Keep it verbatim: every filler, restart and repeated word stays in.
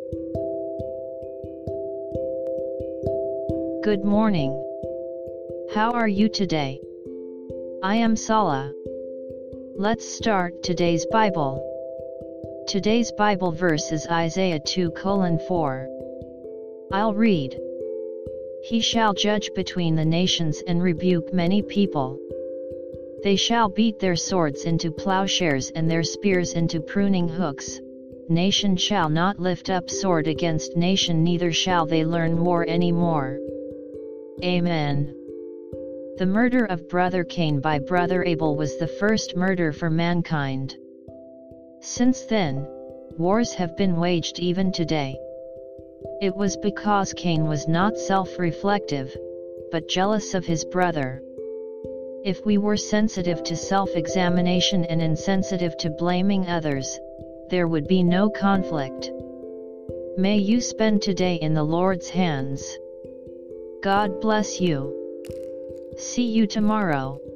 Good morning. How are you today? I am Sala. Let's start today's Bible. Today's Bible verse is Isaiah two colon four. I'll read. He shall judge between the nations and rebuke many people. They shall beat their swords into plowshares and their spears into pruning hooks. Nation shall not lift up sword against nation, neither shall they learn war any more. Amen. The murder of brother Cain by brother Abel was the first murder for mankind. Since then, wars have been waged even today. It was because Cain was not self-reflective, but jealous of his brother. If we were sensitive to self-examination and insensitive to blaming others, there would be no conflict. May you spend today in the Lord's hands. God bless you. See you tomorrow.